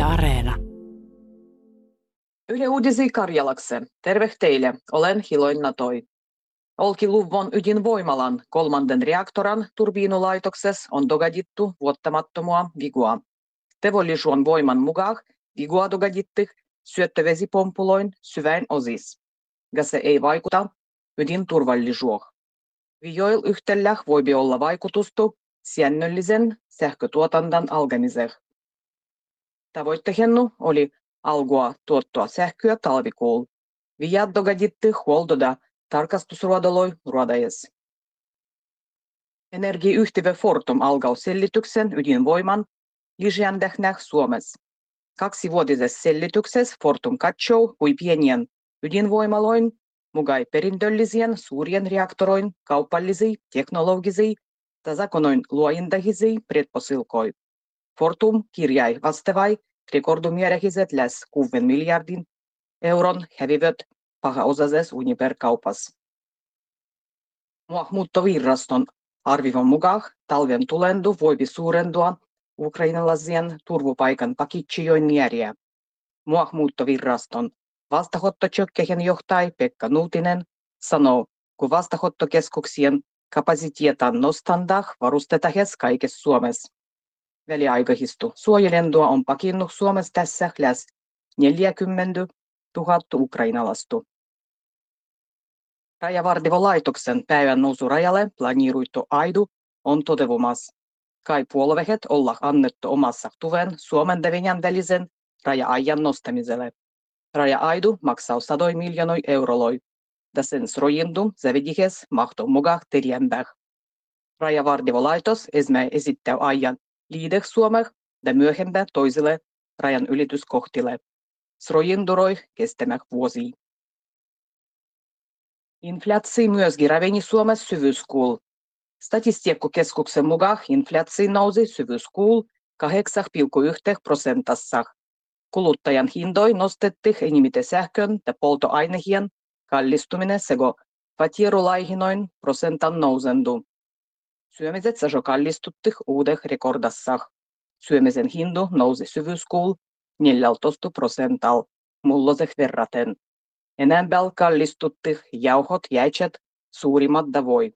Yle Areena. Yle Uudisi Karjalakse. Terve teille, olen Hiloina Toi. Olkiluodon ydinvoimalan 3. reaktoran turbiinulaitoksessa on dogadittu vuottamattomua vigua. Teollisuuden voiman mukaan vigua dogadittih syöttövesipompuloin syväin osis. Ja se ei vaikuta ydinturvallisuuteen. Vioil yhtellä voi olla vaikutusta säännöllisen sähkötuotannon alkamiseen. Tavoitteena oli alkua tuottaa sähköä talvikuulla. Viat dogaditti huoltoda tarkastusruodoloi ruodajes. Energiayhtiö Fortum alkoi selityksen ydinvoiman lisäändähnäh Suomessa. 2-vuotisessa selityksessä Fortum katsoo, kui pienien ydinvoimaloin mugai perintöllisien suurien reaktoroin kaupallisia, teknologisia ja zakonoin luointahisia predposilkoi. Fortum kirjai vastavai rekordumierähiset läs 6 miljardin euron hävivät pahaosaisessa Uniper-kaupassa. Maahanmuuttoviraston arvion mukaan talven tulendu voipi suurentua ukrainalaisien turvapaikan pakitsijoin määriä. Maahanmuuttoviraston vastaanottokeskusten johtaja Pekka Nuutinen sanoo, kun vastaanottokeskuksien kapasiteetan nostandah varustetaan kaikessa Suomessa. Väliaikaisesti suojelendua on pakinnut Suomessa tässä läs 40 000 ukrainalaista. Rajavartiolaitoksen päivän nousurajalle planeeruitu aidu on toteutumassa. Kai puolueet olla annettu omassa tuven Suomen ja Venäjän välisen raja-ajan nostamiselle. Raja-aidu maksaa 100 miljoonaa euroa, ja sen suojeltu zavedihes mahtuu mukaan terjempää. Rajavartiolaitos esittää ajan liideh Suomeen ja myöhempää toisille rajan ylityskohtille. Suojenduroi kestämään vuosia. Inflaatio myöskin raveni Suomessa syvyyskuulla. Statistiikkakeskuksen mukaan inflaatio nousi syvyyskuulla 8,1%. Kuluttajan hintoja nostettiin enemmän sähkön ja polttoainehien kallistuminen sekä vatierulaihinoin prosentan nousendu. Syömiset sajo kallistuttiin uudeh rekordassa. Syömisen hinta nousi syvyyskuulla 14%, mulloseh verraten. Enempää kallistuttiin jauhot, jäitset, suurimmat davoi.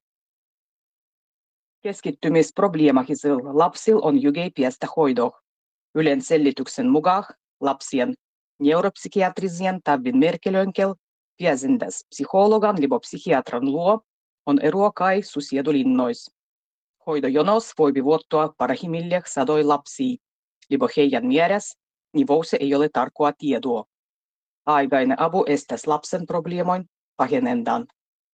Keskittymisprobleemahisilla lapsilla on jugei piestä hoidoh. Ylen selityksen mukaan lapsien neuropsykiatrisien tabbin merkelöinkel viestintäs psykologan libo psykiatran luo on eroa kai susiedulinnois. Hoidojonos voi vuottua parhaimmilleen 100 lapsia, libo heidän mielessä nivousse ei ole tarkkoa tietoa. Aikainen apu estäisi lapsen probleemoin pahenendan.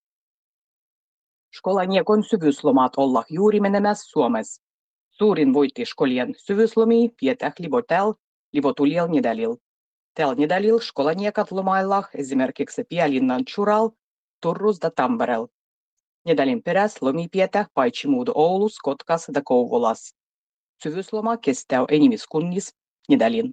Skolaniekon syvyyslomat olla juuri menemässä Suomessa. Suurin voitti skolien syvyyslomia pietäh libo tuliel nedälil. Tällä nedälil skolaniekat lomaillah esimerkiksi Pielinnan Tjural, Turrus ja Tamperel. Nedälin peräs lomi pietäh paitsi muudu Oulus, Kotkas ja Kouvolas. Syvyysloma kestää enimiskunnis nedälin.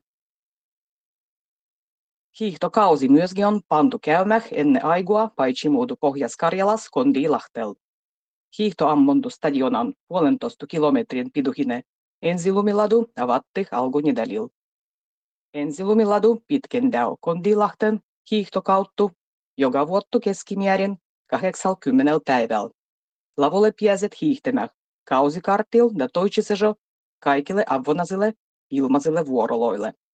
Hiihtokausi myöskin on pantu käymään ennen aigua paitsi muudu Pohjas-Karjalas Kondiilahtel. Hiihtoammontu stadionan 1,5 kilometrin pituinen ensilumiladu avatti alkunedälil. Ensilumiladu pitkendää Kondiilahten hiihtokauttu joka vuottu keskimäärin 80 päivällä. Lavolle pääset hiihtämään kausikartilla ja toitsisejo kaikille avonaisille ilmaisille vuoroloille.